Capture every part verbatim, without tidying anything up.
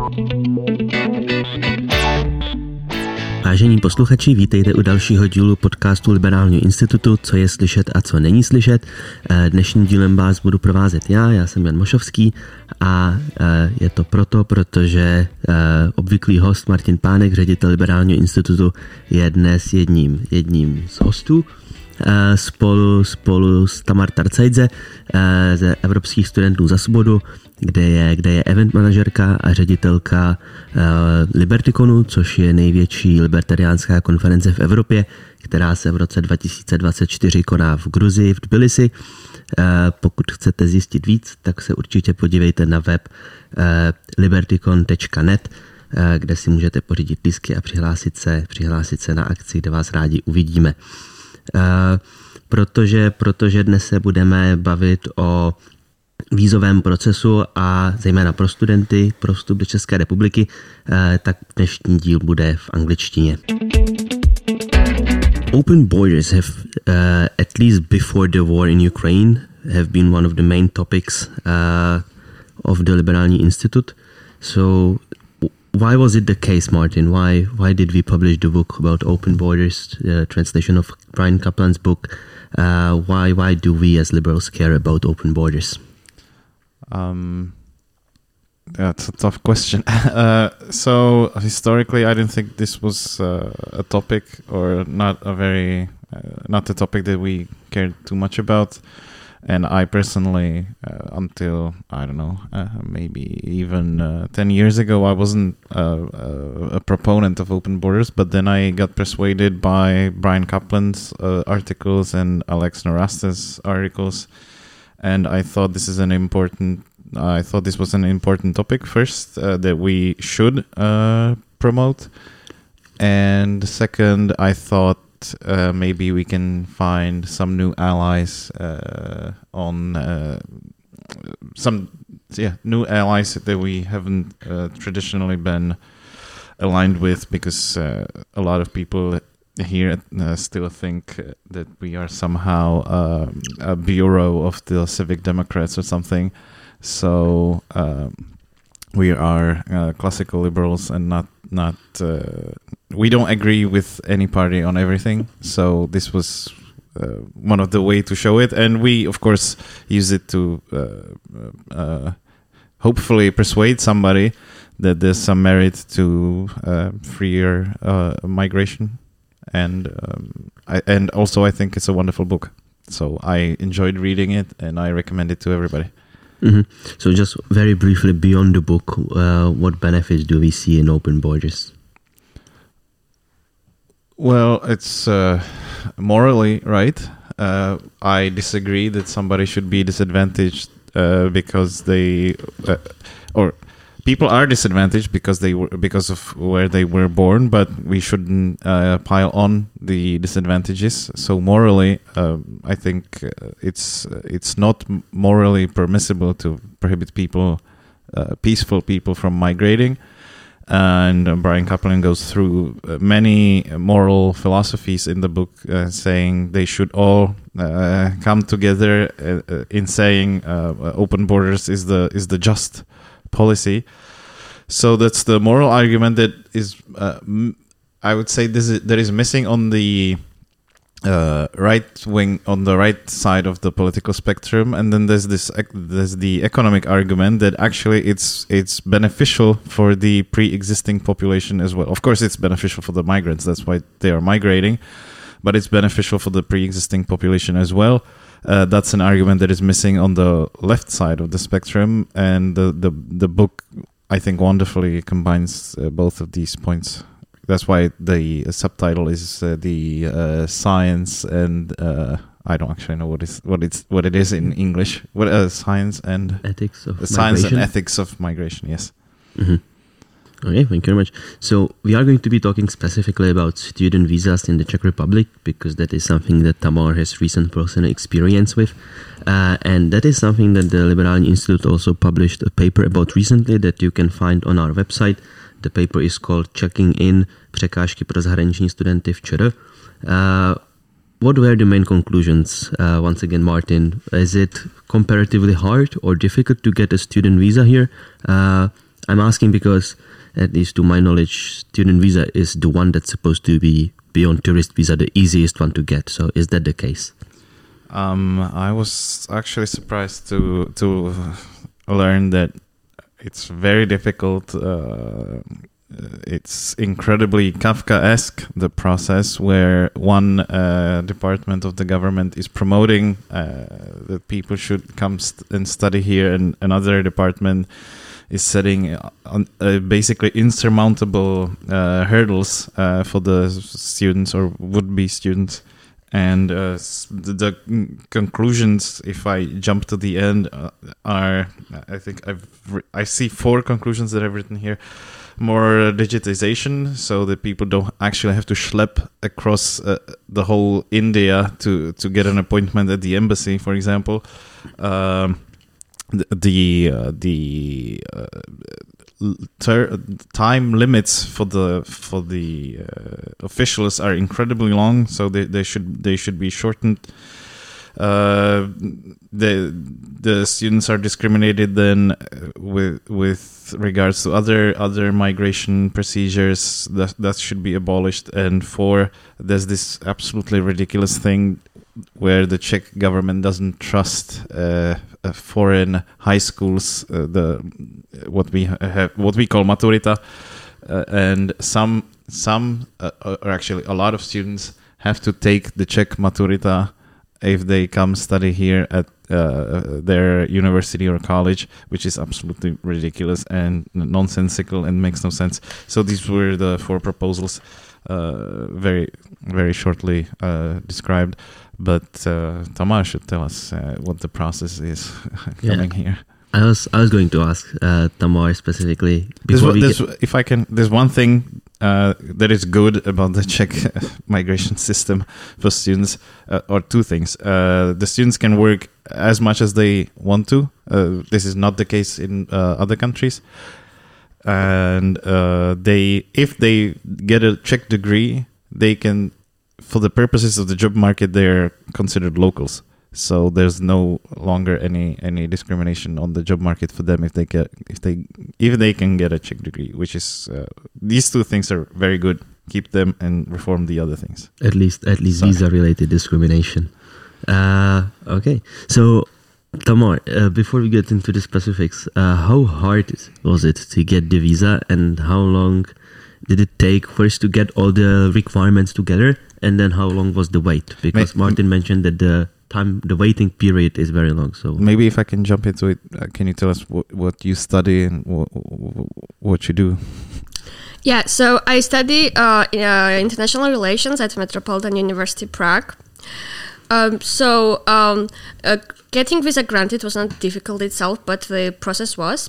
Vážení posluchači, vítejte u dalšího dílu podcastu Liberálního institutu, co je slyšet a co není slyšet. Dnešním dílem vás budu provázet já, já jsem Jan Mošovský a je to proto, protože obvyklý host Martin Pánek, ředitel Liberálního institutu, je dnes jedním, jedním z hostů. Spolu, spolu s Tamar Tarcaidze ze Evropských studentů za svobodu, kde je, kde je event manažerka a ředitelka Libertikonu, což je největší libertariánská konference v Evropě, která se v roce dva tisíce dvacet čtyři koná v Gruzii, v Tbilisi. Pokud chcete zjistit víc, tak se určitě podívejte na web libertikon tečka net, kde si můžete pořídit lístky a přihlásit se, přihlásit se na akci, kde vás rádi uvidíme. Uh, protože, protože dnes se budeme bavit o vízovém procesu a zejména pro studenty, pro vstup do České republiky, uh, tak dnešní díl bude v angličtině. Open borders have, uh, at least before the war in Ukraine, have been one of the main topics uh, of the Liberální Institute. So why was it the case, Martin? Why why did we publish the book about open borders, uh, translation of Brian Kaplan's book? Uh, why why do we as liberals care about open borders? Um, that's a tough question. uh, so historically, I don't think this was uh, a topic, or not a very uh, not a topic that we cared too much about. And I personally, uh, until, I don't know, uh, maybe even uh, ten years ago, I wasn't uh, uh, a proponent of open borders, but then I got persuaded by Brian Kaplan's uh, articles and Alex Nowrasteh's articles, and I thought this is an important, I thought this was an important topic first, uh, that we should uh, promote, and second, I thought Uh, maybe we can find some new allies uh, on uh, some yeah new allies that we haven't uh, traditionally been aligned with, because uh, a lot of people here uh, still think that we are somehow uh, a bureau of the Civic Democrats or something. So um, we are uh, classical liberals and not not uh, we don't agree with any party on everything. So this was uh, one of the way to show it, and we of course use it to uh, uh, hopefully persuade somebody that there's some merit to uh, freer uh, migration, and um, I, and also I think it's a wonderful book. So I enjoyed reading it, and I recommend it to everybody. Mm-hmm. So just very briefly, beyond the book, uh, what benefits do we see in open borders? Well, it's uh, morally right. Uh, I disagree that somebody should be disadvantaged uh, because they, uh, or people are disadvantaged because they were because of where they were born. But we shouldn't uh, pile on the disadvantages. So morally, uh, I think it's it's not morally permissible to prohibit people, uh, peaceful people, from migrating. And uh, Brian Kaplan goes through uh, many moral philosophies in the book, uh, saying they should all uh, come together uh, uh, in saying uh, open borders is the is the just policy. So that's the moral argument that is, uh, m- I would say, this is, that is missing on the uh, right wing, on the right side of the political spectrum. And then there's this there's the economic argument that actually it's it's beneficial for the pre-existing population as well. Of course, it's beneficial for the migrants. That's why they are migrating, but it's beneficial for the pre-existing population as well. Uh, that's an argument that is missing on the left side of the spectrum, and the the, the book, I think, wonderfully combines uh, both of these points. That's why the subtitle is uh, the uh, science and uh, I don't actually know what is what it's what it is in English. What uh, science and ethics of the science migration. and ethics of migration. Yes. Mm-hmm. Okay, thank you very much. So we are going to be talking specifically about student visas in the Czech Republic, because that is something that Tamar has recent personal experience with. Uh, and that is something that the Liberální Institute also published a paper about recently that you can find on our website. The paper is called Checking In Překážky pro zahraniční studenty v ČR. Uh, what were the main conclusions? Uh, once again, Martin, is it comparatively hard or difficult to get a student visa here? Uh, I'm asking because, at least to my knowledge, student visa is the one that's supposed to be, beyond tourist visa, the easiest one to get. So is that the case? Um, I was actually surprised to to learn that it's very difficult. Uh, it's incredibly Kafkaesque, the process where one uh, department of the government is promoting uh, that people should come st- and study here, and another department is setting on, uh, basically insurmountable uh, hurdles uh, for the students or would-be students. And uh, the, the conclusions, if I jump to the end, uh, are, I think I've re- I see four conclusions that I've written here. More digitization, so that people don't actually have to schlep across uh, the whole India to, to get an appointment at the embassy, for example. Um, the the, uh, the uh, ter- time limits for the for the uh, officials are incredibly long, so they, they should they should be shortened. Uh, the the students are discriminated then with with regards to other other migration procedures that that should be abolished. And four, there's this absolutely ridiculous thing where the Czech government doesn't trust uh, uh, foreign high schools, uh, the what we have what we call maturita, uh, and some some uh, or actually a lot of students have to take the Czech maturita if they come study here at uh, their university or college, which is absolutely ridiculous and nonsensical and makes no sense. So these were the four proposals, uh, very, very shortly uh, described. But uh, Tamar should tell us uh, what the process is coming yeah. here. I was I was going to ask uh, Tamar specifically. Before there's, we there's, get... If I can, there's one thing uh, that is good about the Czech migration system for students, uh, or two things. Uh, the students can work as much as they want to. Uh, this is not the case in uh, other countries. And uh, they, if they get a Czech degree, they can, for the purposes of the job market, they're considered locals. So there's no longer any, any discrimination on the job market for them if they get if they if they can get a Czech degree, which is uh, these two things are very good. Keep them and reform the other things. At least at least visa related discrimination. Uh, okay, so Tamar, uh, before we get into the specifics, uh, how hard was it to get the visa, and how long did it take first to get all the requirements together, and then how long was the wait? Because May- Martin mentioned that the time, the waiting period is very long. So maybe if I can jump into it, uh, can you tell us what, what you study and what, what you do? Yeah, so I study uh, in, uh, international relations at Metropolitan University Prague. Um, so um, uh, getting visa granted was not difficult itself, but the process was.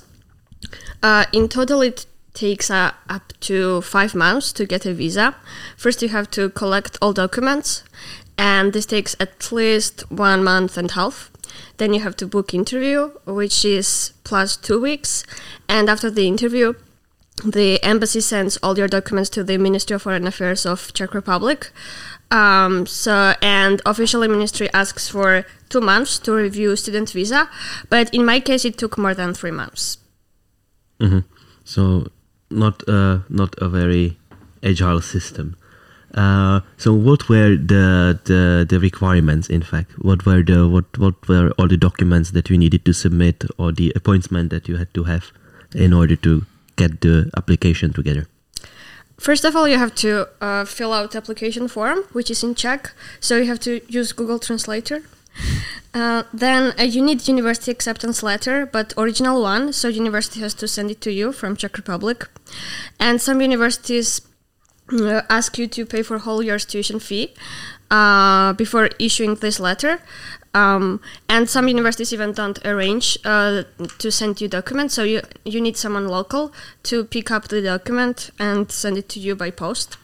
Uh, in total, it takes uh, up to five months to get a visa. First, you have to collect all documents, and this takes at least one month and a half. Then you have to book interview, which is plus two weeks. And after the interview, the embassy sends all your documents to the Ministry of Foreign Affairs of Czech Republic. Um, so, and officially ministry asks for two months to review student visa. But in my case, it took more than three months. Mm-hmm. So not uh, not a very agile system. Uh, so what were the, the the requirements? In fact, what were the what what were all the documents that you needed to submit, or the appointment that you had to have in order to get the application together? First of all, you have to uh, fill out the application form, which is in Czech. So you have to use Google Translator. Uh, then uh, you need university acceptance letter, but original one. So university has to send it to you from Czech Republic. And some universities uh, ask you to pay for whole year's tuition fee uh, before issuing this letter. Um, and some universities even don't arrange uh, to send you documents. So you, you need someone local to pick up the document and send it to you by post.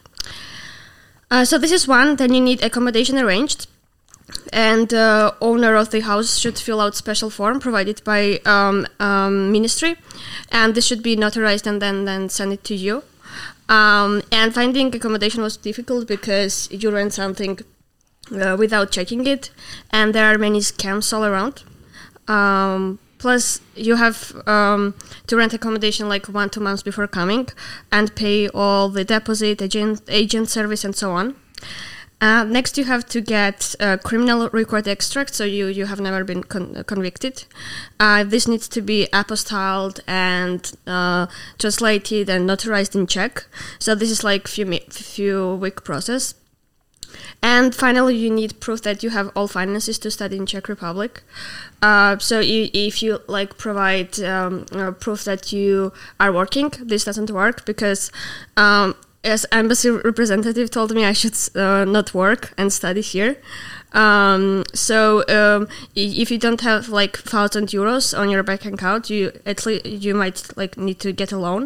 Uh, so this is one. Then you need accommodation arranged. And the uh, owner of the house should fill out special form provided by um, um, ministry. And this should be notarized and then, then send it to you. Um, and finding accommodation was difficult because you rent something uh, without checking it. And there are many scams all around. Um, Plus, you have um, to rent accommodation like one, two months before coming and pay all the deposit, agent, agent service, and so on. Uh, next, you have to get a criminal record extract, so you, you have never been con- convicted. Uh, this needs to be apostilled and uh, translated and notarized in Czech. So this is like few mi- few week process. And finally, you need proof that you have all finances to study in Czech Republic. Uh, so you, if you like provide um, uh, proof that you are working, this doesn't work because um, as embassy representative told me I should uh, not work and study here. Um, so um, if you don't have like thousand euros on your bank account, you at least you might like need to get a loan.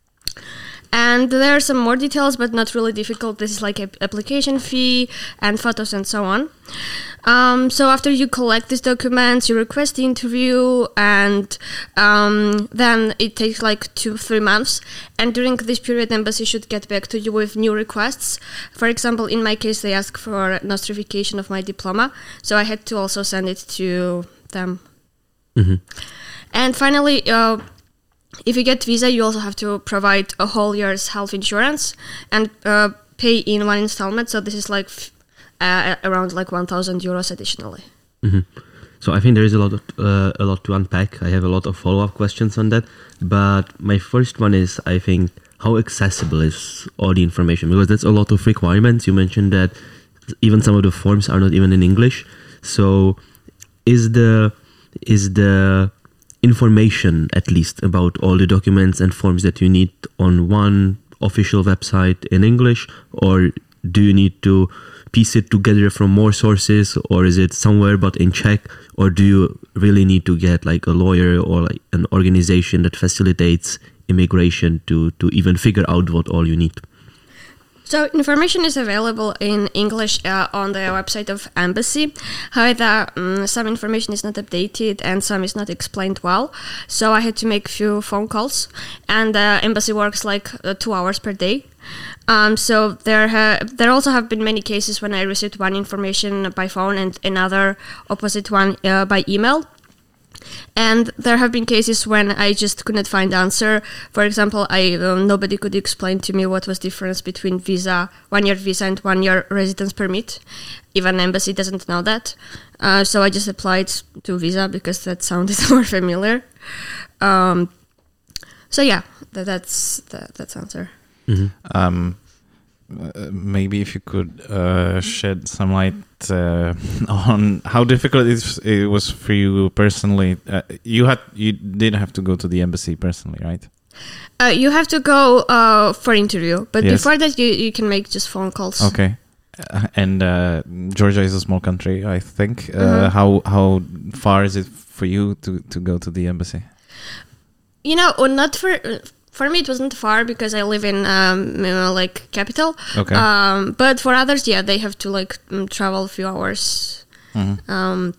And there are some more details, but not really difficult. This is like an application fee and photos and so on. Um, so after you collect these documents, you request the interview, and um, then it takes like two, three months. And during this period, embassy should get back to you with new requests. For example, in my case, they asked for nostrification of my diploma, so I had to also send it to them. Mm-hmm. And finally, uh, if you get visa, you also have to provide a whole year's health insurance and uh, pay in one installment. So this is like f- uh, around like one thousand euros additionally. Mm-hmm. So I think there is a lot of, uh, a lot to unpack. I have a lot of follow-up questions on that. But my first one is, I think, how accessible is all the information? Because that's a lot of requirements. You mentioned that even some of the forms are not even in English. So is the is the information, at least, about all the documents and forms that you need on one official website in English, or do you need to piece it together from more sources, or is it somewhere but in Czech, or do you really need to get like a lawyer or like an organization that facilitates immigration to to even figure out what all you need? So information is available in English uh, on the website of embassy. However, um, some information is not updated and some is not explained well. So I had to make a few phone calls, and the uh, embassy works like uh, two hours per day. Um, so there ha- there also have been many cases when I received one information by phone and another opposite one uh, by email. And there have been cases when I just could not find the answer. For example, I uh, nobody could explain to me what was the difference between visa, one-year visa and one-year residence permit. Even embassy doesn't know that. Uh, so I just applied to visa because that sounded more familiar. Um, so yeah, that, that's that, that's answer. Mm-hmm. Um, uh, maybe if you could uh, shed some light uh, on how difficult it, is, it was for you personally. Uh, you had you did have to go to the embassy personally, right? Uh, you have to go uh, for interview, but yes. before that, you, you can make just phone calls. Okay. Uh, and uh, Georgia is a small country, I think. Uh, mm-hmm. How how far is it for you to, to go to the embassy? You know, well, not for. For me, it wasn't far because I live in um, you know, like capital. Okay. Um, but for others, yeah, they have to like um, travel a few hours. Mm-hmm. Um,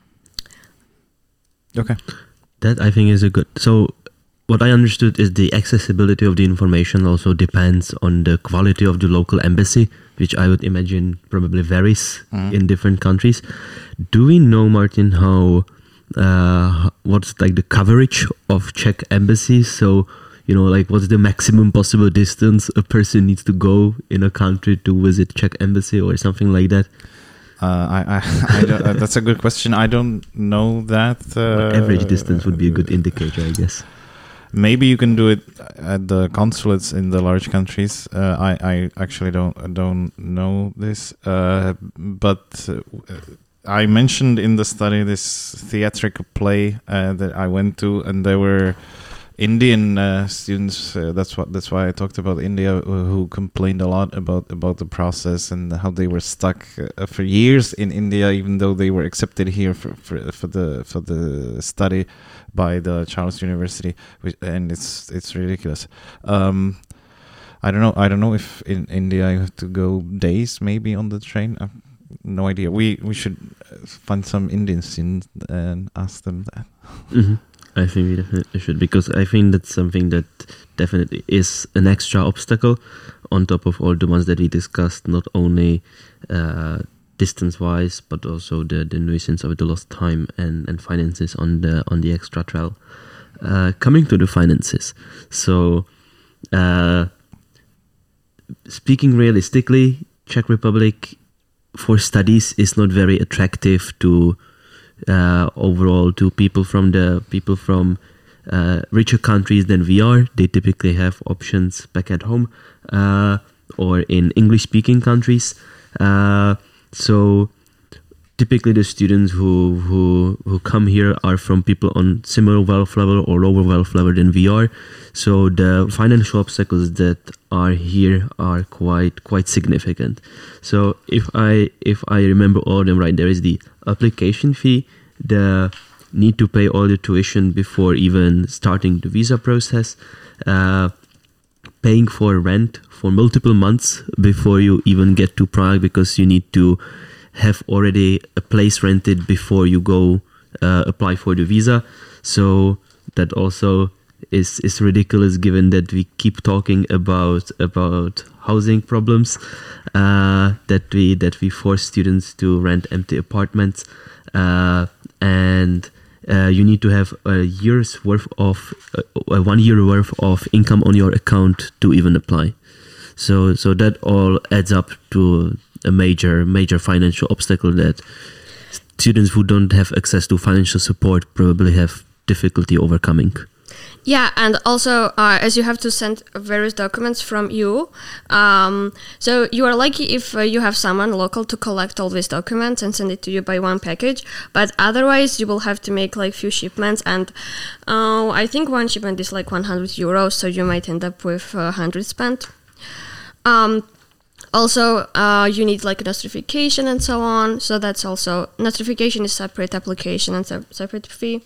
okay. That I think is a good. So what I understood is the accessibility of the information also depends on the quality of the local embassy, which I would imagine probably varies mm-hmm. in different countries. Do we know, Martin, how uh, what's like the coverage of Czech embassies? So, you know, like what's the maximum possible distance a person needs to go in a country to visit Czech embassy or something like that? Uh, I, I, I don't, uh, that's a good question. I don't know that. Uh, well, average distance would be a good indicator, I guess. Maybe you can do it at the consulates in the large countries. Uh, I, I actually don't don't know this, uh, but uh, I mentioned in the study this theatrical play uh, that I went to, and there were Indian uh, students. Uh, that's what. That's why I talked about India, uh, who complained a lot about about the process and how they were stuck uh, for years in India, even though they were accepted here for for, for the for the study by the Charles University, which, and it's it's ridiculous. Um, I don't know. I don't know if in India you have to go days maybe on the train. I've no idea. We we should find some Indian students and ask them that. Mm-hmm. I think we definitely should, because I think that's something that definitely is an extra obstacle on top of all the ones that we discussed. Not only uh, distance-wise, but also the, the nuisance of the lost time and, and finances on the on the extra travel. Uh, coming to the finances, so uh, speaking realistically, Czech Republic for studies is not very attractive to uh, overall to people from the people from uh, richer countries than we are. They typically have options back at home uh, or in English-speaking countries. Uh, so typically the students who, who who come here are from people on similar wealth level or lower wealth level than we are. So the financial obstacles that are here are quite quite significant. So if I if I remember all of them right, there is the application fee, the need to pay all the tuition before even starting the visa process, uh, paying for rent for multiple months before you even get to Prague, because you need to have already a place rented before you go uh, apply for the visa. So that also is is ridiculous, given that we keep talking about about housing problems, uh, that we that we force students to rent empty apartments, uh, and uh, you need to have a year's worth of uh, one year worth of income on your account to even apply. So so that all adds up to a major major financial obstacle that students who don't have access to financial support probably have difficulty overcoming. Yeah, and also uh, as you have to send various documents from you, um, so you are lucky if uh, you have someone local to collect all these documents and send it to you by one package, but otherwise you will have to make like few shipments, and uh, I think one shipment is like one hundred euros, so you might end up with uh, one hundred spent. Um, Also, uh, you need like a notification and so on. So that's also, notification is separate application and se- separate fee.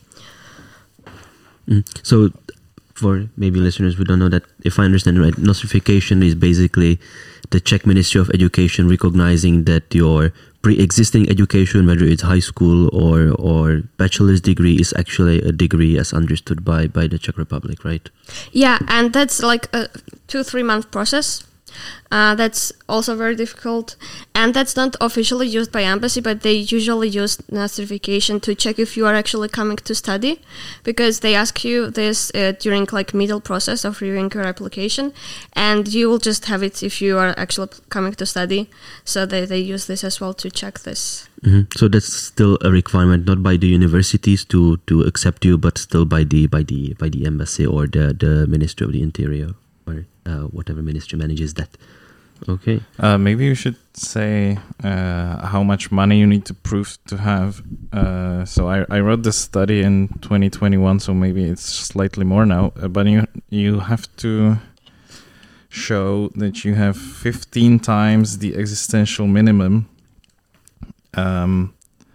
Mm. So for maybe listeners who don't know that, if I understand right, notification is basically the Czech Ministry of Education recognizing that your pre-existing education, whether it's high school or or bachelor's degree, is actually a degree as understood by, by the Czech Republic, right? Yeah, and that's like a two, three month process. Uh, that's also very difficult, and that's not officially used by embassy, but they usually use notification to check if you are actually coming to study, because they ask you this uh, during like middle process of reviewing your application, and you will just have it if you are actually coming to study. So they, they use this as well to check this. Mm-hmm. So that's still a requirement, not by the universities to, to accept you, but still by the by the by the embassy or the, the Ministry of the Interior. Or uh, whatever ministry manages that. Okay. Uh, maybe you should say uh, how much money you need to prove to have. Uh, so I, I wrote this study in twenty twenty-one, so maybe it's slightly more now. Uh, but you you have to show that you have fifteen times the existential minimum. Um,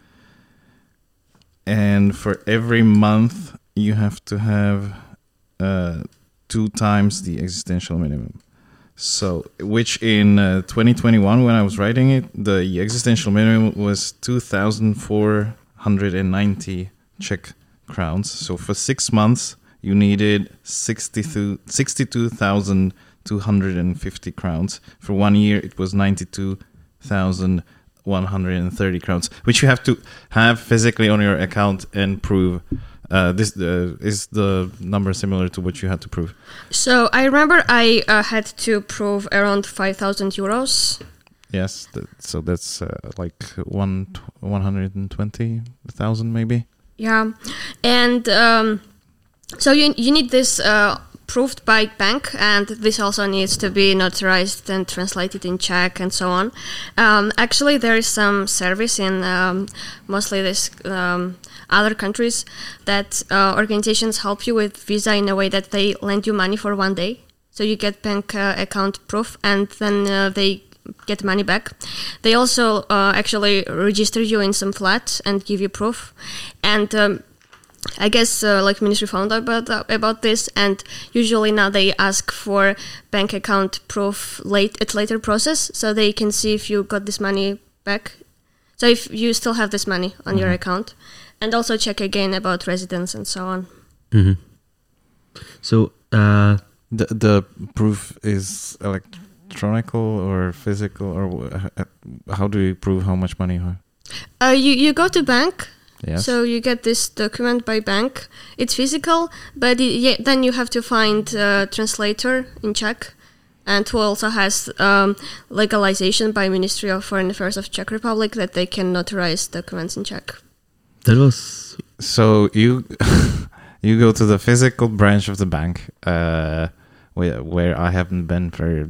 and for every month, you have to have Uh, two times the existential minimum. So, which in uh, twenty twenty-one, when I was writing it, the existential minimum was two thousand four hundred ninety Czech crowns. So for six months, you needed sixty-two thousand two hundred fifty crowns. For one year, it was ninety-two thousand one hundred thirty crowns, which you have to have physically on your account and prove. Uh, this uh, is the number similar to what you had to prove? So I remember I uh, had to prove around five thousand euros. Yes, that, so that's uh, like one one hundred twenty thousand maybe. Yeah, and um, so you you need this uh, proved by bank, and this also needs to be notarized and translated in Czech and so on. Um, actually, there is some service in um, mostly this. Um, other countries that uh, organizations help you with visa in a way that they lend you money for one day. So you get bank uh, account proof, and then uh, they get money back. They also uh, actually register you in some flat and give you proof. And um, I guess uh, like ministry found out about, uh, about this, and usually now they ask for bank account proof late at later process, so they can see if you got this money back. So if you still have this money on mm-hmm. your account. And also check again about residence and so on. Mm-hmm. So uh, the the proof is electronic. electronical or physical, or uh, how do you prove how much money you have? Uh, you, you go to bank. Yes. So you get this document by bank. It's physical, but it, yeah, then you have to find a translator in Czech, and who also has um, legalization by Ministry of Foreign Affairs of Czech Republic that they can notarize documents in Czech. That was... So you you go to the physical branch of the bank, uh, where, where I haven't been for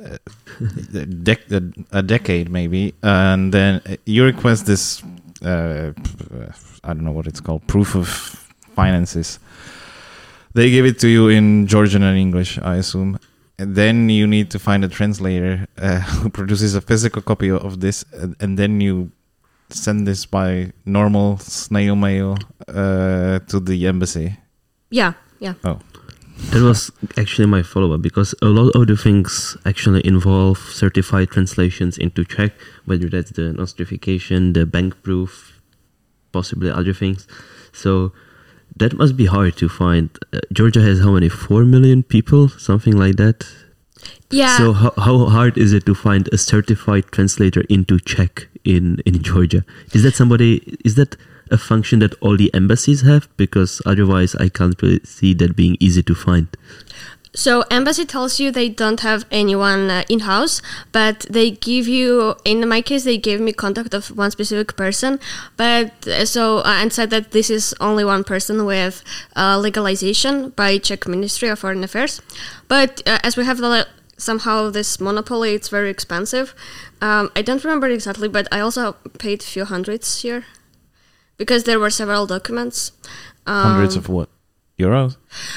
a, dec- a decade maybe, and then you request this... Uh, I don't know what it's called, proof of finances. They give it to you in Georgian and English, I assume. And then you need to find a translator uh, who produces a physical copy of this, and, and then you send this by normal snail mail uh, to the embassy. Yeah, yeah. Oh. That was actually my follow-up, because a lot of the things actually involve certified translations into Czech, whether that's the nostrification, the bank proof, possibly other things. So that must be hard to find. Uh, Georgia has how many? Four million people, something like that. Yeah. So how how hard is it to find a certified translator into Czech in in Georgia? Is that somebody? Is that a function that all the embassies have? Because otherwise I can't really see that being easy to find. So embassy tells you they don't have anyone uh, in-house, but they give you, in my case, they gave me contact of one specific person, but uh, so uh, and said that this is only one person with uh, legalization by Czech Ministry of Foreign Affairs. But uh, as we have the, somehow this monopoly, it's very expensive. Um, I don't remember exactly, but I also paid a few hundreds here, because there were several documents. Um, Hundreds of what? Euros?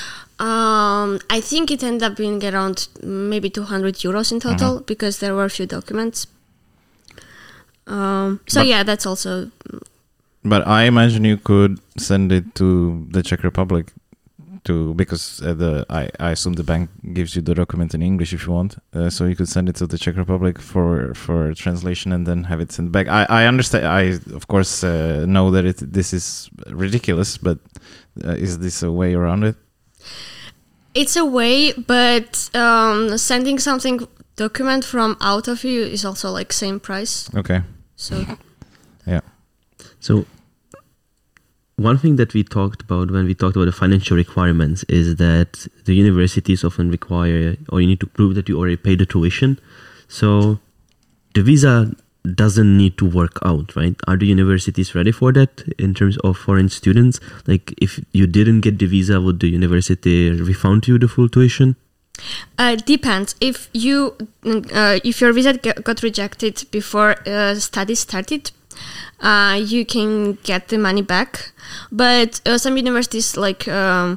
Um, I think it ended up being around maybe two hundred euros in total, mm-hmm. because there were a few documents. Um, so but, yeah, that's also... But I imagine you could send it to the Czech Republic, to because uh, the I, I assume the bank gives you the document in English if you want, uh, so you could send it to the Czech Republic for for translation and then have it sent back. I, I understand. I of course uh, know that it this is ridiculous, but uh, is this a way around it? It's a way, but um, sending something document from out of you is also like same price. Okay. So yeah. So one thing that we talked about when we talked about the financial requirements is that the universities often require, or you need to prove that you already paid the tuition. So the visa doesn't need to work out, right? Are the universities ready for that in terms of foreign students? Like if you didn't get the visa, would the university refund you the full tuition? Uh, depends. If you uh, if your visa got rejected before uh, studies started, uh, you can get the money back. But uh, some universities like um,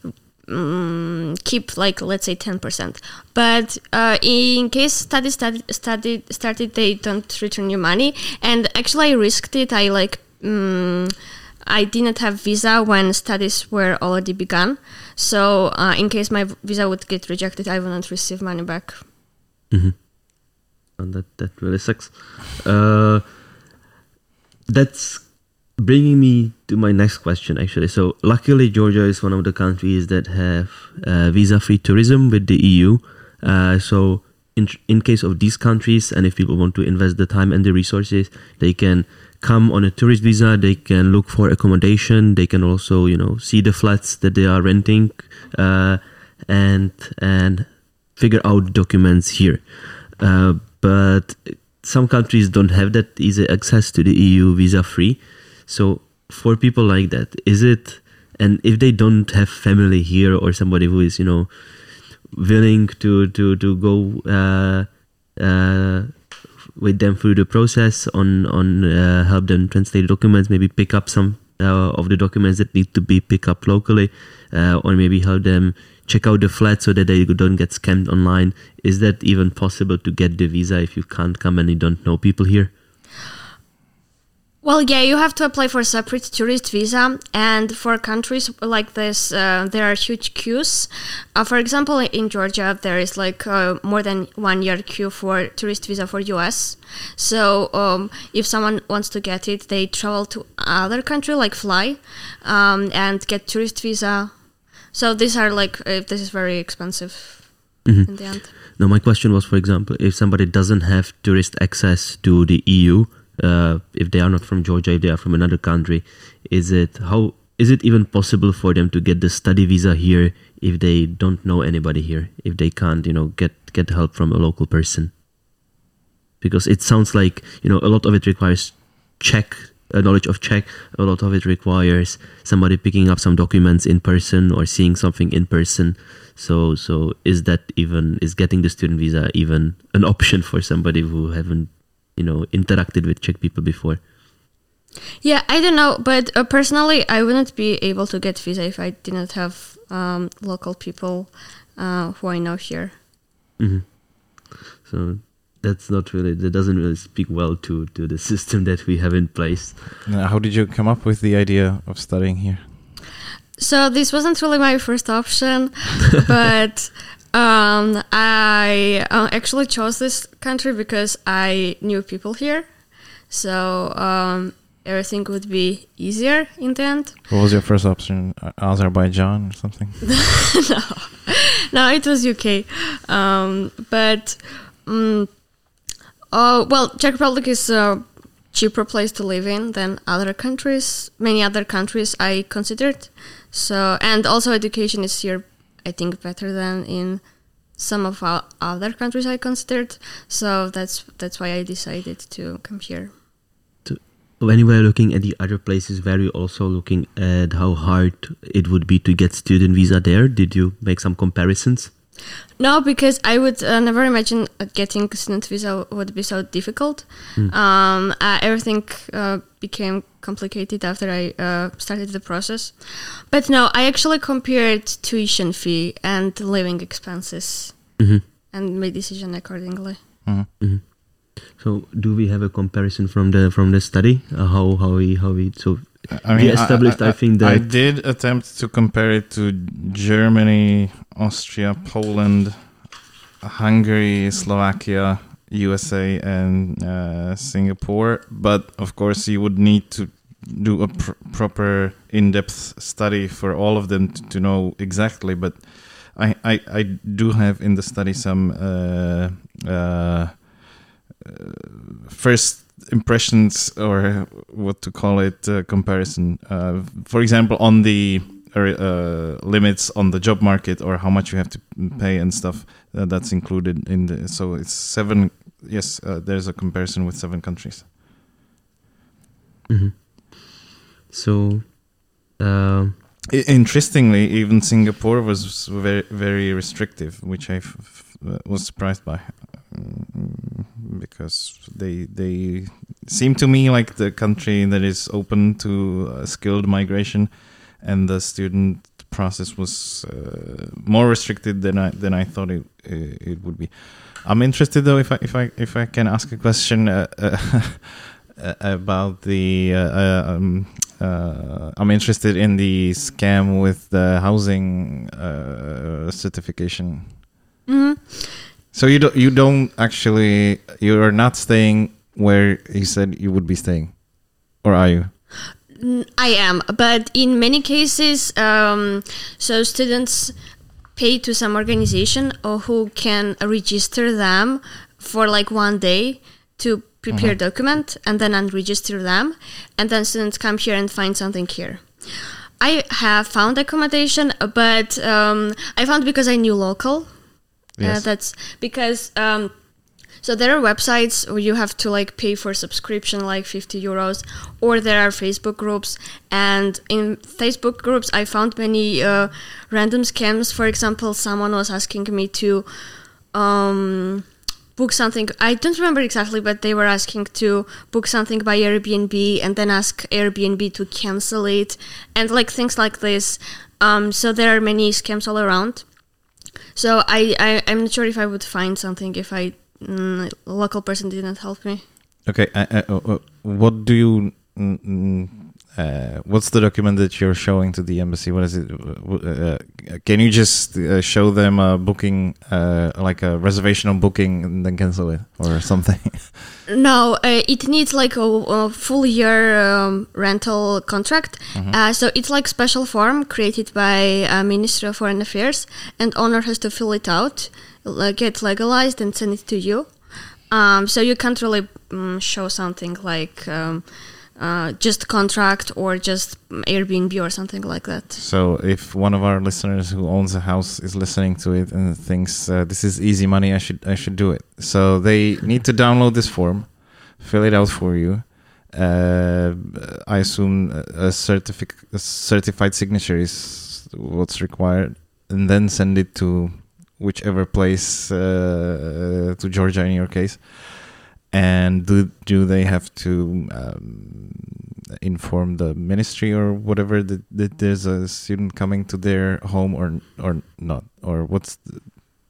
um, keep like let's say ten percent. But uh, in case studies studied, studied started, they don't return your money. And actually, I risked it. I like. Um, I didn't have visa when studies were already begun. So uh, in case my visa would get rejected, I wouldn't receive money back. Mm-hmm. And that, that really sucks. Uh, that's bringing me to my next question, actually. So luckily, Georgia is one of the countries that have uh, visa-free tourism with the E U. Uh, so in, in case of these countries, and if people want to invest the time and the resources, they can come on a tourist visa, they can look for accommodation, they can also, you know, see the flats that they are renting, uh, and and figure out documents here. Uh, but some countries don't have that easy access to the E U visa free. So for people like that, is it, and if they don't have family here or somebody who is, you know, willing to, to, to go uh, uh, with them through the process on on uh, help them translate documents, maybe pick up some uh, of the documents that need to be picked up locally, uh, or maybe help them check out the flat so that they don't get scammed online. Is that even possible to get the visa if you can't come and you don't know people here? Well, yeah, you have to apply for a separate tourist visa, and for countries like this, uh, there are huge queues. Uh, for example, in Georgia, there is like uh, more than one year queue for tourist visa for U S. So um, if someone wants to get it, they travel to other country, like fly, um, and get tourist visa. So these are like, uh, this is very expensive. mm-hmm. in the end. Now, my question was, for example, if somebody doesn't have tourist access to the E U, uh, if they are not from Georgia, if they are from another country, is it how is it even possible for them to get the study visa here if they don't know anybody here, if they can't, you know, get get help from a local person? Because it sounds like, you know, a lot of it requires Czech, uh, knowledge of Czech. A lot of it requires somebody picking up some documents in person or seeing something in person. So, so is that even, is getting the student visa even an option for somebody who haven't, you know, interacted with Czech people before? Yeah, I don't know, but uh, personally, I wouldn't be able to get visa if I didn't have um, local people uh, who I know here. Mm-hmm. So that's not really, that doesn't really speak well to, to the system that we have in place. Now, how did you come up with the idea of studying here? So this wasn't really my first option, but um, I uh, actually chose this country because I knew people here. So um, everything would be easier in the end. What was your first option? Azerbaijan or something? no, no, it was U K. Um, but um, uh, well, Czech Republic is a cheaper place to live in than other countries. Many other countries I considered. So and also education is here, I think, better than in some of our other countries I considered. So that's that's why I decided to come here. When you were looking at the other places, were you also looking at how hard it would be to get student visa there? Did you make some comparisons? No, because I would uh, never imagine getting student visa would be so difficult. Mm. Um, uh, everything uh, became complicated after I uh, started the process. But no, I actually compared tuition fee and living expenses mm-hmm. and made decision accordingly. Mm-hmm. Mm-hmm. So, do we have a comparison from the from the study? Uh, how how we how we so I mean, we established? I, I, I think that I did attempt to compare it to Germany, Austria, Poland, Hungary, Slovakia, U S A, and uh, Singapore. But of course, you would need to do a pr- proper in-depth study for all of them to, to know exactly. But I, I I do have in the study some. Uh, uh, Uh, first impressions, or what to call it, uh, comparison. Uh, for example, on the uh, limits on the job market, or how much you have to pay and stuff. Uh, that's included in the. So it's seven. Yes, uh, there's a comparison with seven countries. Mm-hmm. So, uh, I- interestingly, even Singapore was very very restrictive, which I f- f- was surprised by. Because they they seem to me like the country that is open to uh, skilled migration, and the student process was uh, more restricted than I than I thought it it would be. I'm interested though if I if I if I can ask a question uh, uh, about the. Uh, uh, um, uh, I'm interested in the scam with the housing uh, certification. Mm-hmm. So you don't you don't actually you are not staying where he said you would be staying, or are you? I am, but in many cases, um, so students pay to some organization or who can register them for like one day to prepare mm-hmm. document and then unregister them, and then students come here and find something here. I have found accommodation, but um, I found because I knew local. Yes. Uh, that's because um, so there are websites where you have to like pay for subscription like fifty euros, or there are Facebook groups, and in Facebook groups I found many uh, random scams. For example, someone was asking me to um, book something. I don't remember exactly, but they were asking to book something by Airbnb and then ask Airbnb to cancel it, and like things like this. Um, so there are many scams all around. So I, I, I'm not sure if I would find something if I mm, a local person didn't help me. Okay, uh, uh, uh, what do you mm, uh, what's the document that you're showing to the embassy? What is it? Uh, can you just uh, show them a booking, uh, like a reservation on booking, and then cancel it or something? No, uh, it needs like a, a full year um, rental contract. Mm-hmm. Uh, so it's like special form created by uh, Ministry of Foreign Affairs, and owner has to fill it out, uh, get legalized, and send it to you. Um, so you can't really um, show something like um, uh, just contract or just Airbnb or something like that. So if one of our listeners who owns a house is listening to it and thinks uh, this is easy money, I should I should do it. So they need to download this form, fill it out for you. Uh, I assume a, certific- a certified signature is what's required, and then send it to whichever place, uh, to Georgia in your case. And do do they have to um, inform the ministry or whatever that, that there's a student coming to their home or or not? Or what's the,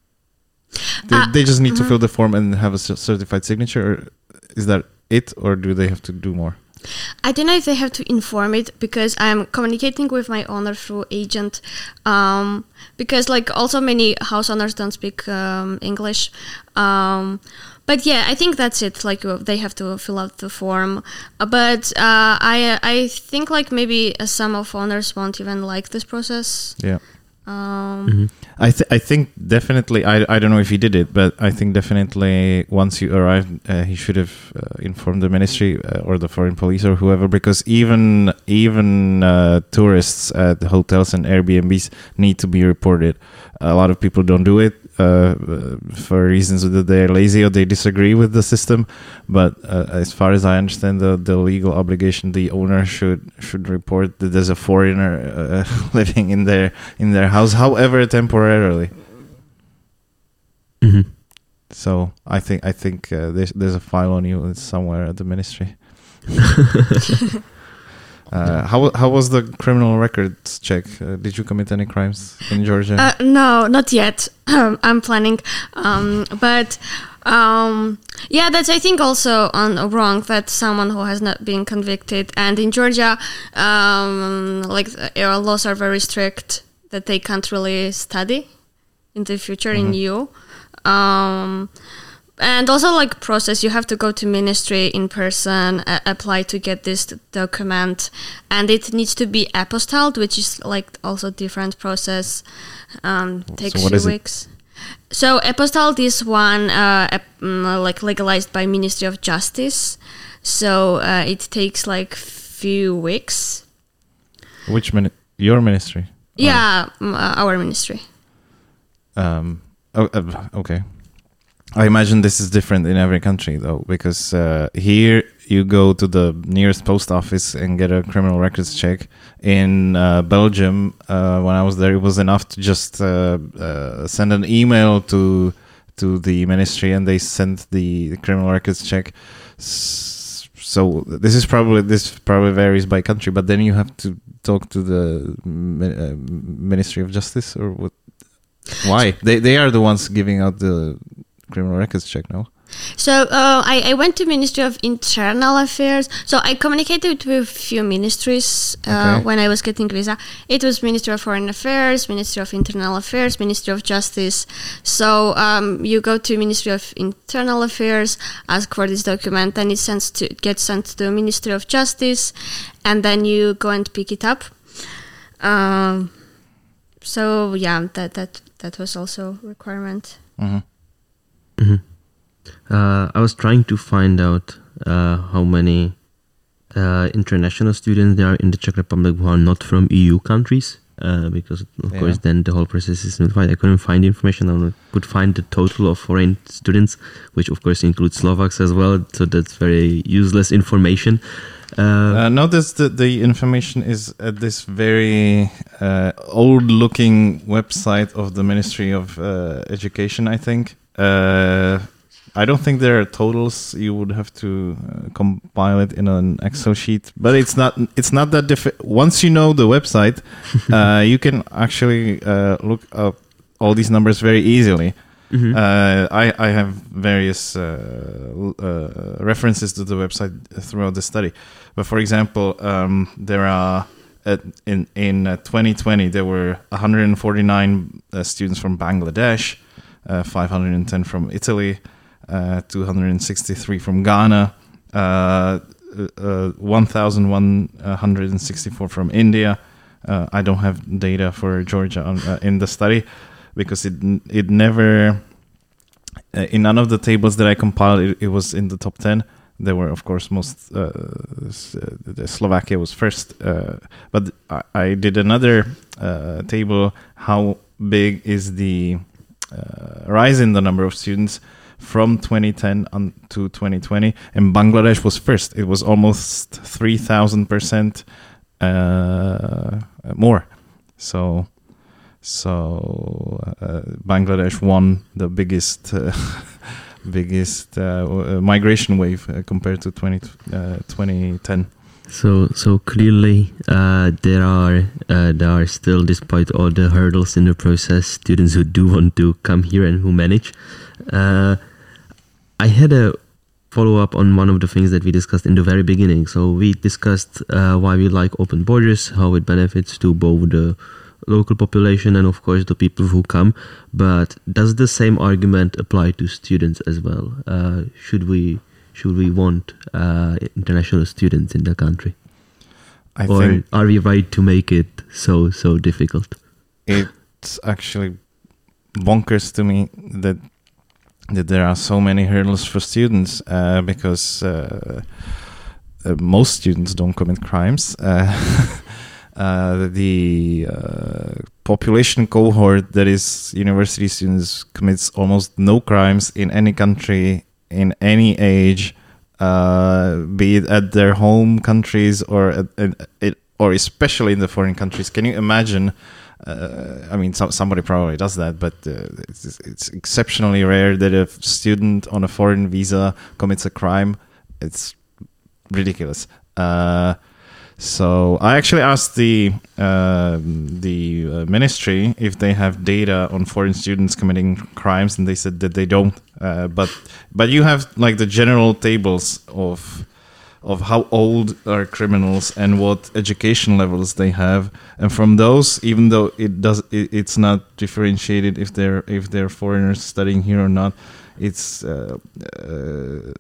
they, uh, they just need mm-hmm. to fill the form and have a certified signature? Or is that it, or do they have to do more? I don't know if they have to inform it, because I'm communicating with my owner through agent, um, because like also many house owners don't speak um, English. Um, but yeah, I think that's it. Like uh, they have to fill out the form. Uh, but uh, I I think like maybe uh, some of owners won't even like this process. Yeah. Um, mm-hmm. I th- I think definitely, I, I don't know if he did it, but I think definitely once you arrived, uh, he should have uh, informed the ministry uh, or the foreign police or whoever, because even even uh, tourists at the hotels and Airbnbs need to be reported. A lot of people don't do it uh, for reasons that they're lazy or they disagree with the system. But uh, as far as I understand the, the legal obligation, the owner should should report that there's a foreigner uh, living in their in their house, however temporarily. Mm-hmm. So I think I think uh, there's there's a file on you somewhere at the ministry. Uh, how how was the criminal records check? Uh, did you commit any crimes in Georgia? Uh, no, not yet. I'm planning, um, but um, yeah, that's I think also on wrong that someone who has not been convicted, and in Georgia, um, like our laws are very strict that they can't really study in the future mm-hmm. in E U. Um, And also, like, process, you have to go to ministry in person, uh, apply to get this document, and it needs to be apostilled, which is, like, also different process, um, takes so few weeks. It? So, apostilled is one, uh, ap- like, legalized by Ministry of Justice, so uh, it takes, like, few weeks. Which, mini- your ministry? Yeah, or? our ministry. Um. Oh, uh, okay. I imagine this is different in every country, though, because uh, here you go to the nearest post office and get a criminal records check. In uh, Belgium, uh, when I was there, it was enough to just uh, uh, send an email to to the ministry, and they sent the, the criminal records check. So this is probably this probably varies by country, but then you have to talk to the uh, Ministry of Justice, or what? Why? They they are the ones giving out the criminal records check, no? So uh, I, I went to Ministry of Internal Affairs. So I communicated with a few ministries uh, okay. when I was getting visa. It was Ministry of Foreign Affairs, Ministry of Internal Affairs, Ministry of Justice. So um, you go to Ministry of Internal Affairs, ask for this document, then it sends to gets sent to the Ministry of Justice, and then you go and pick it up. Um, so yeah, that that that was also a requirement. Mm-hmm. Mm-hmm. Uh, I was trying to find out uh, how many uh, international students there are in the Czech Republic who are not from E U countries, uh, because of yeah. course then the whole process is simplified. I couldn't find the information. I could find the total of foreign students, which of course includes Slovaks as well, so that's very useless information. Uh, uh, notice that the information is at this very uh, old-looking website of the Ministry of uh, Education, I think. Uh, I don't think there are totals. You would have to uh, compile it in an Excel sheet, but it's not. It's not that difficult. Once you know the website, uh, you can actually uh, look up all these numbers very easily. Mm-hmm. Uh, I, I have various uh, uh, references to the website throughout the study. But for example, um, there are uh, in in uh, twenty twenty there were one hundred forty-nine uh, students from Bangladesh, uh, five hundred ten from Italy, uh, two hundred sixty-three from Ghana, uh, uh, one thousand one hundred sixty-four from India. Uh, I don't have data for Georgia on, uh, in the study because it it never uh, in none of the tables that I compiled it, it was in the top ten. There were of course most uh, the Slovakia was first, uh, but I, I did another uh, table. How big is the uh, rise in the number of students from twenty ten on to twenty twenty? And Bangladesh was first. It was almost three thousand percent. Uh, more, so so uh, Bangladesh won the biggest uh, biggest uh, migration wave uh, compared to twenty ten. So so clearly uh, there are uh, there are still, despite all the hurdles in the process, students who do want to come here and who manage. Uh, I had a follow up on one of the things that we discussed in the very beginning. So we discussed uh, why we like open borders, how it benefits to both the local population and of course the people who come. But does the same argument apply to students as well? Uh, should we should we want uh, international students in the country? I or think are we right to make it so so difficult? It's actually bonkers to me that that there are so many hurdles for students uh, because uh, uh, most students don't commit crimes. Uh, uh, the uh, population cohort that is university students commits almost no crimes in any country, in any age, uh, be it at their home countries or at, at, at, or especially in the foreign countries. Can you imagine? Uh, I mean, so, somebody probably does that, but uh, it's, it's exceptionally rare that a student on a foreign visa commits a crime. It's ridiculous. Uh, so I actually asked the uh, the uh, ministry if they have data on foreign students committing crimes, and they said that they don't. Uh, but but you have like the general tables of. of how old are criminals and what education levels they have, and from those, even though it does, it, it's not differentiated if they're if they're foreigners studying here or not. It's uh, uh,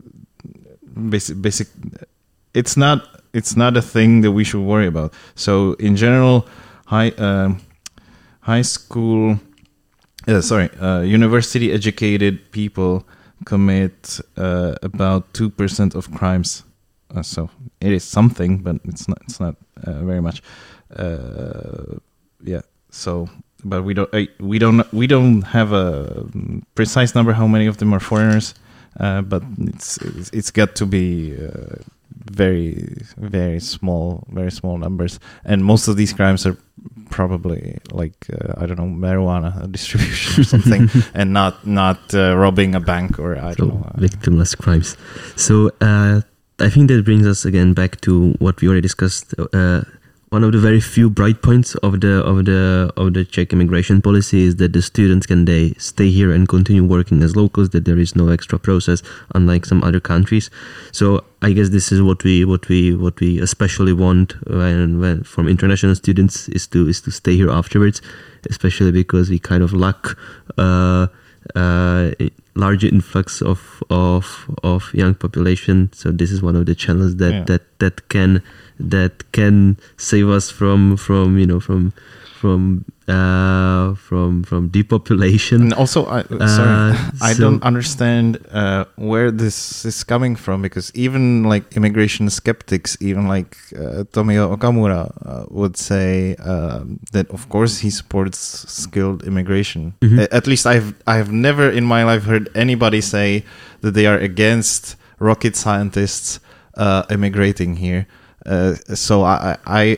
basic, basic. It's not. It's not a thing that we should worry about. So in general, high uh, high school, uh, sorry, uh, university educated people commit uh, about two percent of crimes. Uh, so it is something, but it's not. It's not uh, very much. Uh, yeah. So, but we don't. Uh, we don't. We don't have a precise number how many of them are foreigners. Uh, but it's, it's it's got to be uh, very very small, very small numbers. And most of these crimes are probably like uh, I don't know, marijuana distribution or something, and not not uh, robbing a bank or I so don't know. Uh, victimless crimes. So. Uh, I think that brings us again back to what we already discussed. Uh, one of the very few bright points of the of the of the Czech immigration policy is that the students can they stay here and continue working as locals. That there is no extra process, unlike some other countries. So I guess this is what we what we what we especially want when, when from international students is to is to stay here afterwards, especially because we kind of lack. Uh, uh, larger influx of of of young population. So this is one of the channels that yeah. that that can that can save us from from you know from from uh, from from depopulation. And also, I, sorry, uh, I so don't understand uh, where this is coming from, because even like immigration skeptics, even like uh, Tomio Okamura uh, would say uh, that of course he supports skilled immigration. Mm-hmm. Uh, at least I've I've never in my life heard anybody say that they are against rocket scientists uh, immigrating here. Uh, so I. I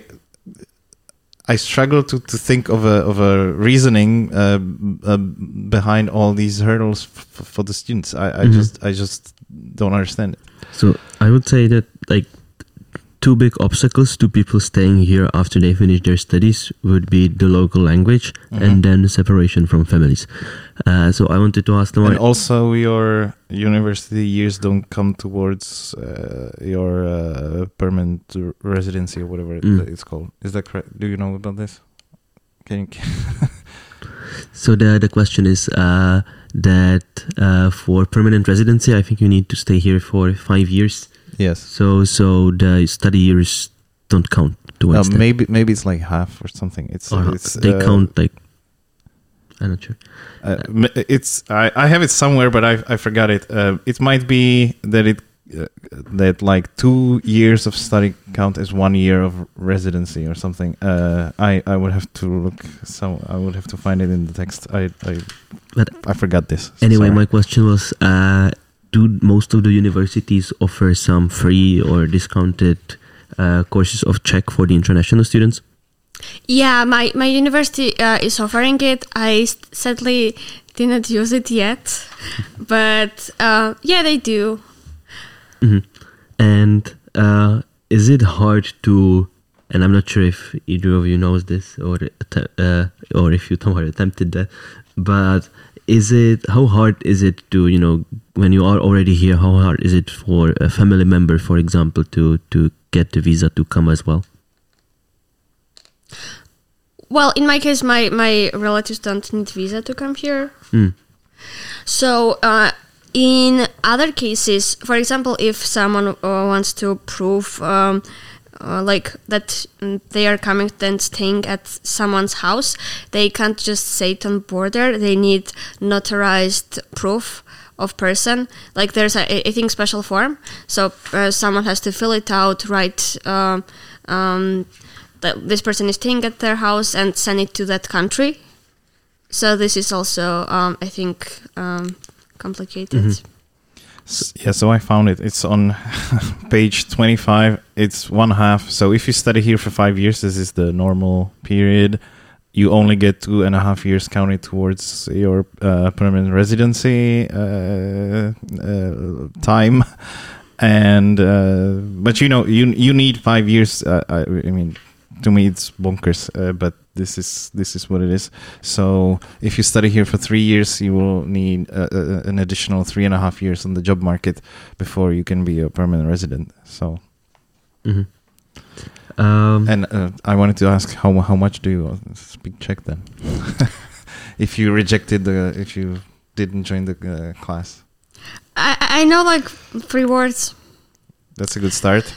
I struggle to, to think of a of a reasoning uh, uh, behind all these hurdles f- for the students. I, I mm-hmm. just I just don't understand it. So I would say that like two big obstacles to people staying here after they finish their studies would be the local language mm-hmm. and then separation from families. Uh, so I wanted to ask them. And also your university years don't come towards uh, your uh, permanent residency or whatever mm. it's called. Is that correct? Do you know about this? Can you... So the the question is uh, that uh, for permanent residency, I think you need to stay here for five years. Yes. So so the study years don't count towards uh, that. Maybe maybe it's like half or something. It's, or it's they uh, count like I'm not sure. Uh, it's I, I have it somewhere, but I I forgot it. Uh, it might be that it uh, that like two years of study count as one year of residency or something. Uh, I I would have to look. Some I would have to find it in the text. I I but I forgot this. So anyway, sorry. my question was. Uh, Do most of the universities offer some free or discounted uh, courses of Czech for the international students? Yeah, my, my university uh, is offering it. I sadly didn't use it yet, but uh, yeah, they do. Mm-hmm. And uh, is it hard to, and I'm not sure if either of you knows this or uh, or if you somehow attempted that, but is it, how hard is it to, you know, when you are already here, how hard is it for a family member, for example, to, to get the visa to come as well? Well, in my case, my, my relatives don't need visa to come here. Mm. So uh, in other cases, for example, if someone uh, wants to prove um, uh, like that they are coming and staying at someone's house, they can't just say it on border. They need notarized proof of person. Like there's a, I think, special form. So uh, someone has to fill it out, write uh, um, that this person is staying at their house and send it to that country. So this is also, um, I think, um, complicated. Mm-hmm. Yeah, so I found it. It's on page twenty-five. It's one half. So if you study here for five years, this is the normal period. You only get two and a half years counted towards your uh, permanent residency uh, uh, time. And uh, but you know, you you need five years. Uh, I, I mean, to me, it's bonkers. Uh, but this is this is what it is. So if you study here for three years, you will need uh, uh, an additional three and a half years on the job market before you can be a permanent resident. So, mm-hmm. um, and uh, I wanted to ask how how much do you speak Czech then? If you rejected the, if you didn't join the uh, class, I I know like three words. That's a good start.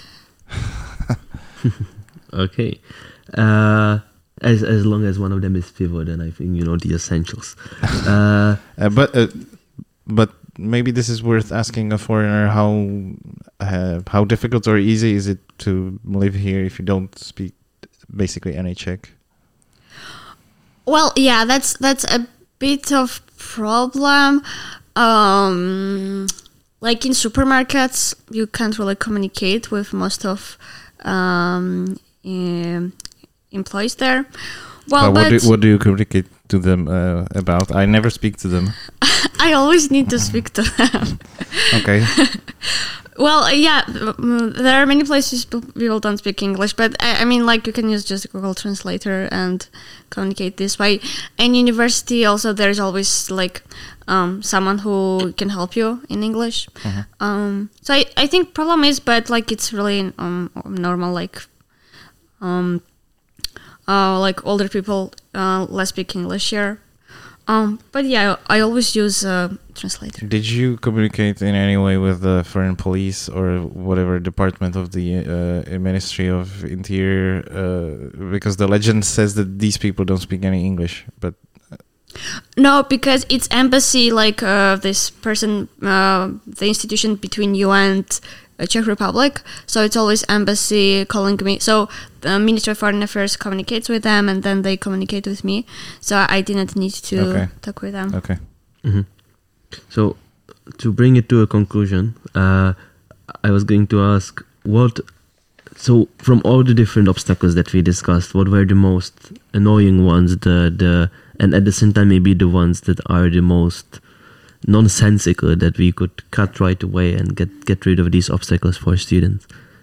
Okay. Uh, As as long as one of them is Fivo, then I think you know the essentials. Uh, uh, but uh, but maybe this is worth asking a foreigner how uh, how difficult or easy is it to live here if you don't speak basically any Czech? Well, yeah, that's that's a bit of problem. Um, like in supermarkets, you can't really communicate with most of um, um employees there. Well, uh, what, but do, what do you communicate to them uh, about? I never speak to them. I always need to speak to them. Okay. Well, yeah, there are many places people don't speak English, but I, I mean, like, you can use just Google Translator and communicate this way. In university, also, there's always, like, um, someone who can help you in English. Uh-huh. Um, so I, I think problem is, but, like, it's really um, normal, like, um, uh, like, older people uh, less speak English here. Um, but yeah, I always use a translator. Did you communicate in any way with the foreign police or whatever department of the uh, Ministry of Interior? Uh, because the legend says that these people don't speak any English, but... No, because it's embassy, like uh, this person, uh, the institution between you and uh, Czech Republic. So it's always embassy calling me. So the Ministry of Foreign Affairs communicates with them, and then they communicate with me. So I didn't need to okay. talk with them. Okay. Mm-hmm. So to bring it to a conclusion, uh, I was going to ask what. So from all the different obstacles that we discussed, what were the most annoying ones? The the and at the same time maybe the ones that are the most nonsensical that we could cut right away and get, get rid of these obstacles for students.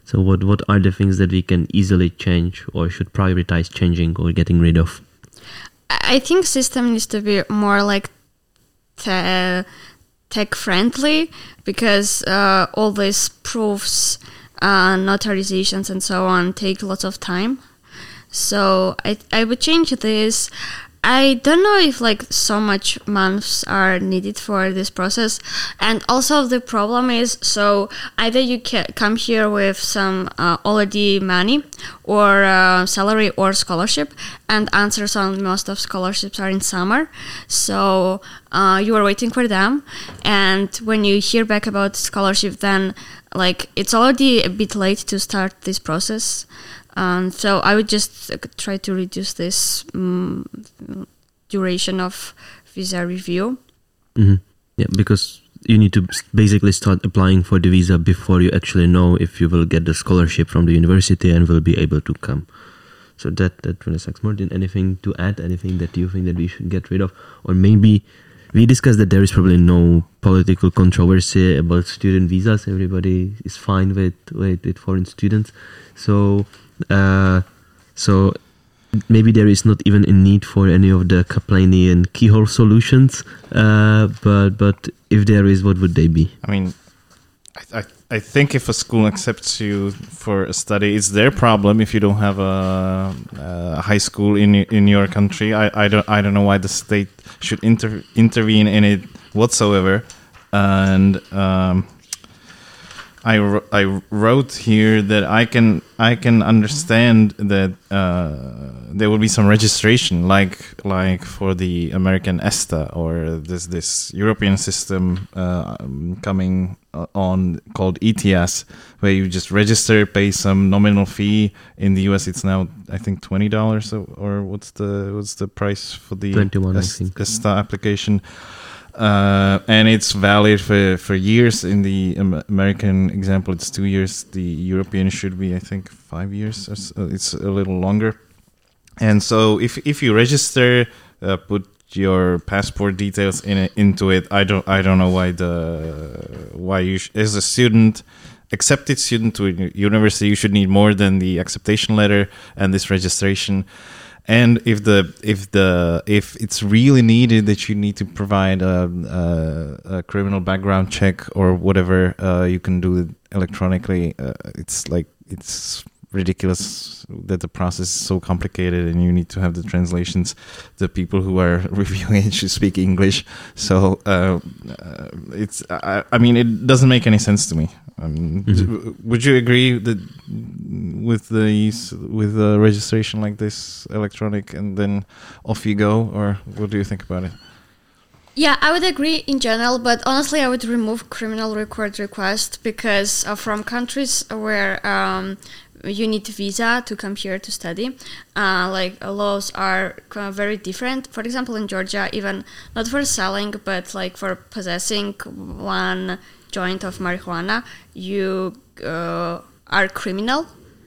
So what, what are the things that we can easily change or should prioritize changing or getting rid of? I think system needs to be more like te- tech friendly, because uh, all these proofs, uh, notarizations and so on take lots of time. So I I would change this. I don't know if like so much months are needed for this process. And also the problem is, so either you can come here with some uh, already money or uh, salary or scholarship, and answers on most of scholarships are in summer. So uh, you are waiting for them. And when you hear back about scholarship, then like it's already a bit late to start this process. Um, so I would just uh, try to reduce this um, duration of visa review. Mm-hmm. Yeah, because you need to basically start applying for the visa before you actually know if you will get the scholarship from the university and will be able to come. So that that really sucks. Martin, anything to add? Anything that you think that we should get rid of? Or maybe we discussed that there is probably no political controversy about student visas. Everybody is fine with with, with foreign students. So. Uh, so maybe there is not even a need for any of the Kaplanian keyhole solutions, uh, but but if there is, what would they be? I mean, I, I I think if a school accepts you for a study, it's their problem. If you don't have a, a high school in in your country, I, I don't I don't know why the state should inter, intervene in it whatsoever. And um, I, I wrote here that I can I can understand that uh, there will be some registration, like like for the American ESTA, or this this European system uh, coming on called E T S, where you just register, pay some nominal fee. In the U S, it's now I think twenty dollars, or what's the what's the price for the twenty-one, I think. ESTA application. Uh, and it's valid for, for years. In the um, American example, it's two years. The European should be, I think, five years. Or so. It's a little longer. And so, if if you register, uh, put your passport details in it, into it. I don't I don't know why the why you sh- as a student, accepted student to a university, you should need more than the acceptation letter and this registration. And if the if the if it's really needed that you need to provide a, a, a criminal background check or whatever, uh, you can do it electronically. Uh, it's like it's ridiculous that the process is so complicated, and you need to have the translations. The people who are reviewing it should speak English, so uh, uh, it's. I, I mean, it doesn't make any sense to me. Um, mm-hmm. Would you agree that with the with the registration like this, electronic, and then off you go, or what do you think about it? Yeah, I would agree in general, but honestly, I would remove criminal record request, because uh, from countries where um, you need visa to come here to study, uh, like uh, laws are uh, very different. For example, in Georgia, even not for selling, but like for possessing one joint of marijuana, you uh, are criminal.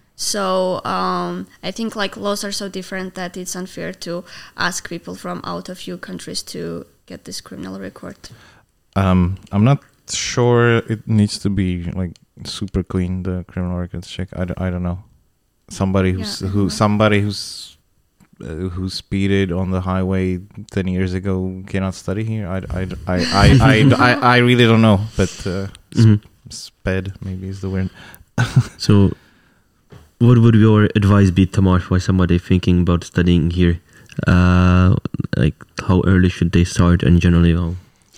So um, I think like laws are so different that it's unfair to ask people from out of few countries to get this criminal record. Um, I'm not sure it needs to be like super clean, the criminal records check. I don't, I don't know. Somebody who's yeah, who somebody who's uh, who speeded on the highway ten years ago cannot study here. I, I, I, I, I, I, I really don't know, but uh, mm-hmm. sped maybe is the word. So what would your advice be, Tamar, for somebody thinking about studying here? Uh, like how early should they start, and generally how?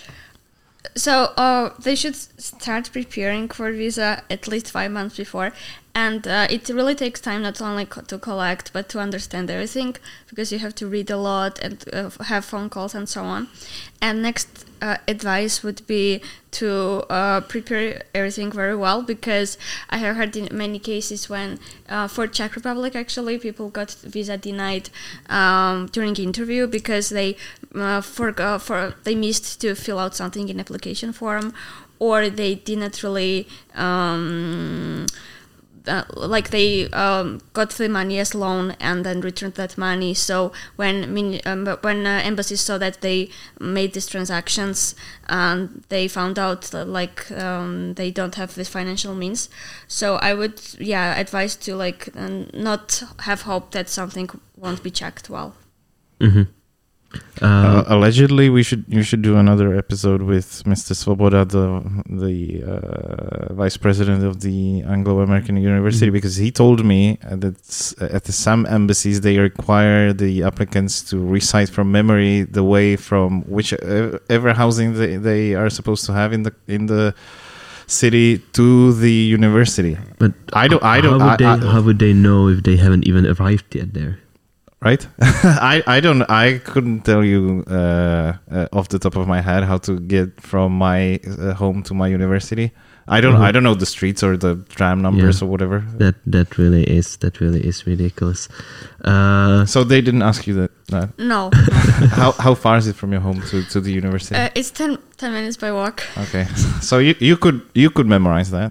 So uh, they should start preparing for visa at least five months before. And uh, it really takes time not only co- to collect, but to understand everything, because you have to read a lot and uh, have phone calls and so on. And next uh, advice would be to uh, prepare everything very well, because I have heard in many cases when, uh, for Czech Republic actually, people got visa denied um, during interview because they uh, forgot, for they missed to fill out something in application form, or they did not really. Um, uh, like they um, got the money as loan and then returned that money. So when min- um, when uh, embassies saw that they made these transactions, um, they found out that, like um, they don't have this financial means. So I would yeah advise to like uh, not have hope that something won't be checked well. Mm-hmm. Uh, uh, allegedly, we should you should do another episode with Mister Svoboda, the the uh, vice president of the Anglo-American University, mm-hmm. because he told me that at the, some embassies they require the applicants to recite from memory the way from whichever housing they, they are supposed to have in the in the city to the university. But I don't. I don't. How would, I, they, I, how would they know if they haven't even arrived yet there? Right? I, I don't I couldn't tell you uh, uh, off the top of my head how to get from my uh, home to my university. I don't mm-hmm. I don't know the streets or the tram numbers yeah. or whatever. That that really is that really is ridiculous. Uh, so they didn't ask you that? that? No. how how far is it from your home to, to the university? Uh, it's ten, ten minutes by walk. Okay. So you you could you could memorize that.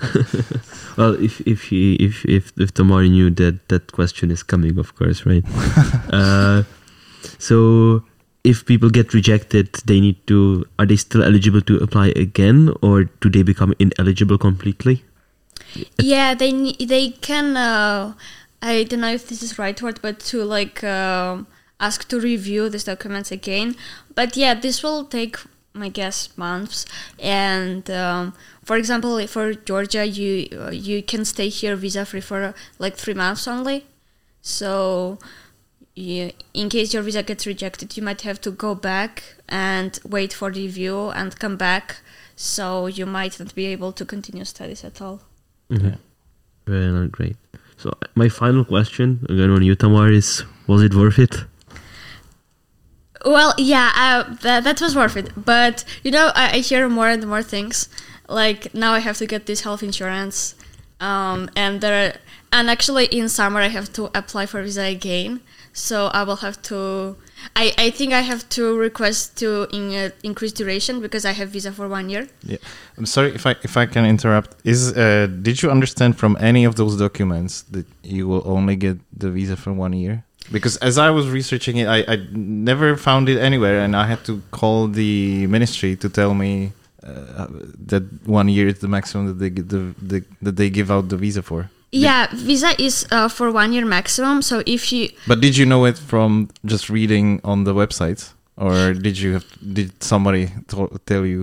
Well, if if he if if if Tamar knew that that question is coming, of course, right? uh, so if people get rejected, they need to. Are they still eligible to apply again, or do they become ineligible completely? Yeah, they they can. Uh, I don't know if this is the right word, but to like uh, ask to review these documents again. But yeah, this will take, I guess, months. And um, for example, for Georgia, you uh, you can stay here visa free for uh, like three months only. So you, in case your visa gets rejected, you might have to go back and wait for review and come back. So you might not be able to continue studies at all. Mm-hmm. Yeah. Very not great. So my final question again on you, Tamar, is: was it worth it? Well, yeah, uh, that that was worth it. But you know, I, I hear more and more things. Like now, I have to get this health insurance, um, and there, are, and actually in summer I have to apply for visa again. So I will have to. I, I think I have to request to in, uh, increase duration because I have visa for one year. Yeah, I'm sorry if I if I can interrupt. Is uh, did you understand from any of those documents that you will only get the visa for one year? Because as I was researching it, I, I never found it anywhere, and I had to call the ministry to tell me uh, that one year is the maximum that they give the, the that they give out the visa for. Yeah, visa is uh, for one year maximum. So if you. But did you know it from just reading on the website, or did you have did somebody to- tell you?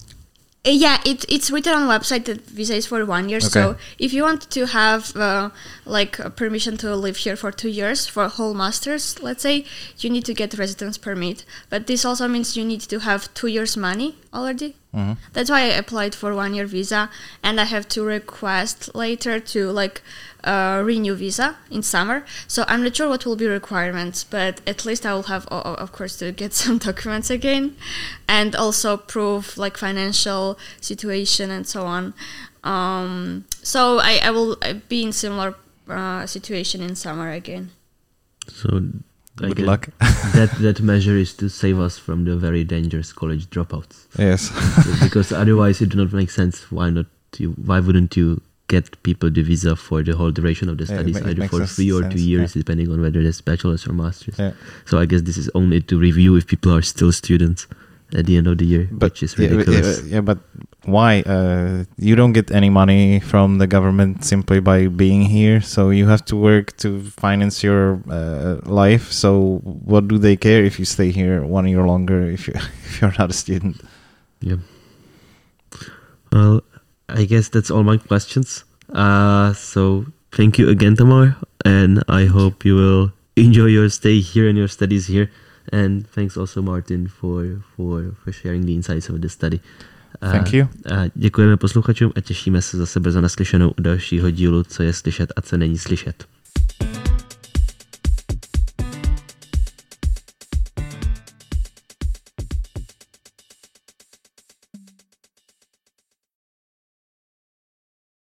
Yeah, it, it's written on the website that visa is for one year. Okay. So if you want to have uh, like a permission to live here for two years for a whole master's, let's say, you need to get residence permit. But this also means you need to have two years money already. Mm-hmm. That's why I applied for one year visa, and I have to request later to like uh, renew visa in summer. So I'm not sure what will be requirements, but at least I will have, of course, to get some documents again, and also prove like financial situation and so on. Um, so I, I will be in similar uh, situation in summer again. So. Good luck. that that measure is to save us from the very dangerous college dropouts. Yes. Because otherwise it do not make sense. Why not? You, why wouldn't you get people the visa for the whole duration of the studies, yeah, either for three or sense, two years, yeah. depending on whether it's bachelor's or master's. Yeah. So I guess this is only to review if people are still students at the end of the year, but, which is ridiculous. Yeah, yeah, but why? Uh, you don't get any money from the government simply by being here, so you have to work to finance your uh, life. So what do they care if you stay here one year longer if you if you're not a student? Yeah. Well, I guess that's all my questions. Uh, so thank you again, Tamar, and I hope you will enjoy your stay here and your studies here. And thanks also, Martin, for, for, for sharing the insights of the study. Thank you. A děkujeme posluchačům a těšíme se zase brzo naslyšenou u dalšího dílu Co je slyšet a co není slyšet.